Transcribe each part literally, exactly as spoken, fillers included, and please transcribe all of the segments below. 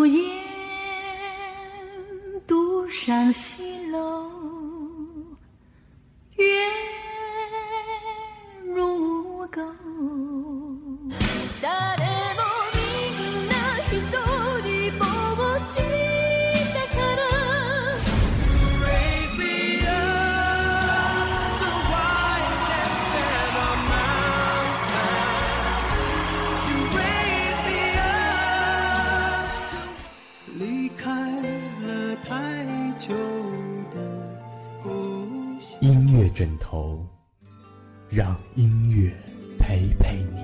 烟独上西楼，月如钩。 音乐枕头，让音乐陪陪你。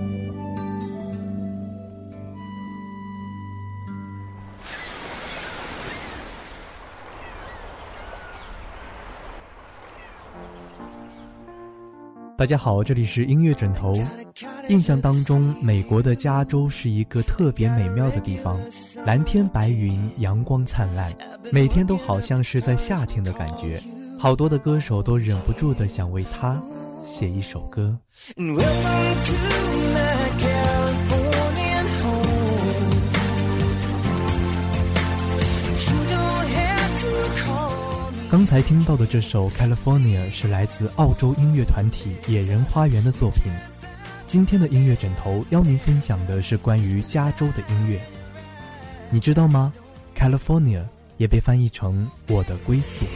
大家好，这里是音乐枕头。印象当中，美国的加州是一个特别美妙的地方，蓝天白云，阳光灿烂，每天都好像是在夏天的感觉。好多的歌手都忍不住的想为他写一首歌。刚才听到的这首 California 是来自澳洲音乐团体野人花园的作品。今天的音乐枕头邀您分享的是关于加州的音乐。你知道吗？ California 也被翻译成我的归宿。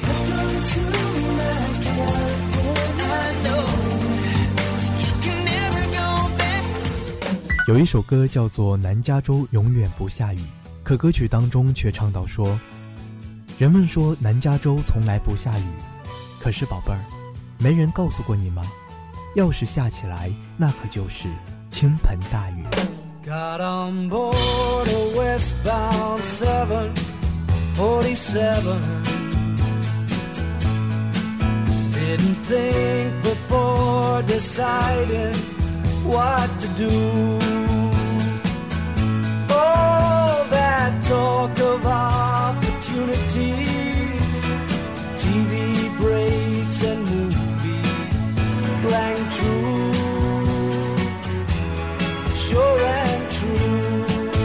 有一首歌叫做《南加州永远不下雨》，可歌曲当中却唱到说，人们说南加州从来不下雨，可是宝贝儿，没人告诉过你吗？要是下起来，那可就是倾盆大雨。 Got on board a westbound seven forty-seven, didn't think before deciding what to do. Oh, that talk of opportunity, T V breaks and movies rang true, sure and true.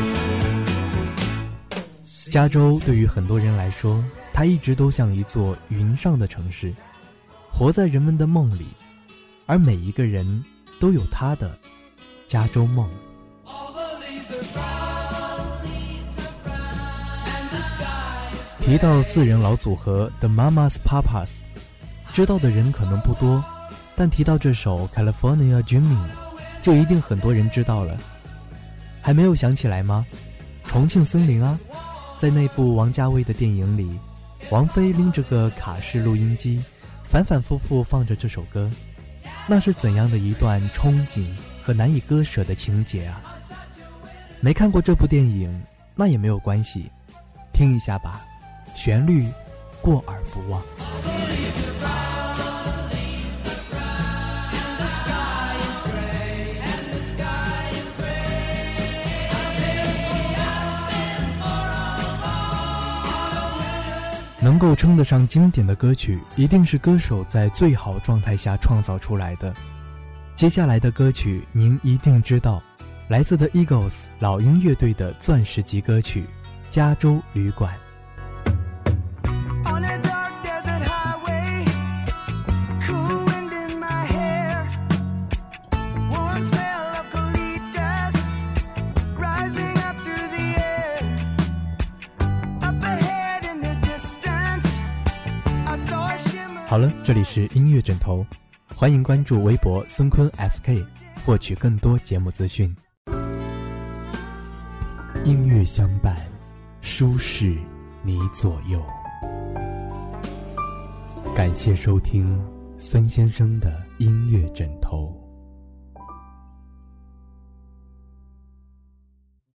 加州对于很多人来说，它一直都像一座云上的城市，活在人们的梦里，而每一个人都有他的加州梦。提到四人老组合 The Mamas Papas， 知道的人可能不多，但提到这首 California Dreaming， 就一定很多人知道了。还没有想起来吗？重庆森林啊，在那部王家卫的电影里，王菲拎着个卡式录音机，反反复复放着这首歌，那是怎样的一段憧憬和难以割舍的情节啊！没看过这部电影，那也没有关系，听一下吧，旋律过耳不忘。能够称得上经典的歌曲，一定是歌手在最好状态下创造出来的。接下来的歌曲您一定知道，来自 The Eagles 老鹰乐队的钻石级歌曲《加州旅馆》。好了，这里是音乐枕头，欢迎关注微博孙坤 S K， 获取更多节目资讯。音乐相伴，舒适你左右。感谢收听孙先生的音乐枕头。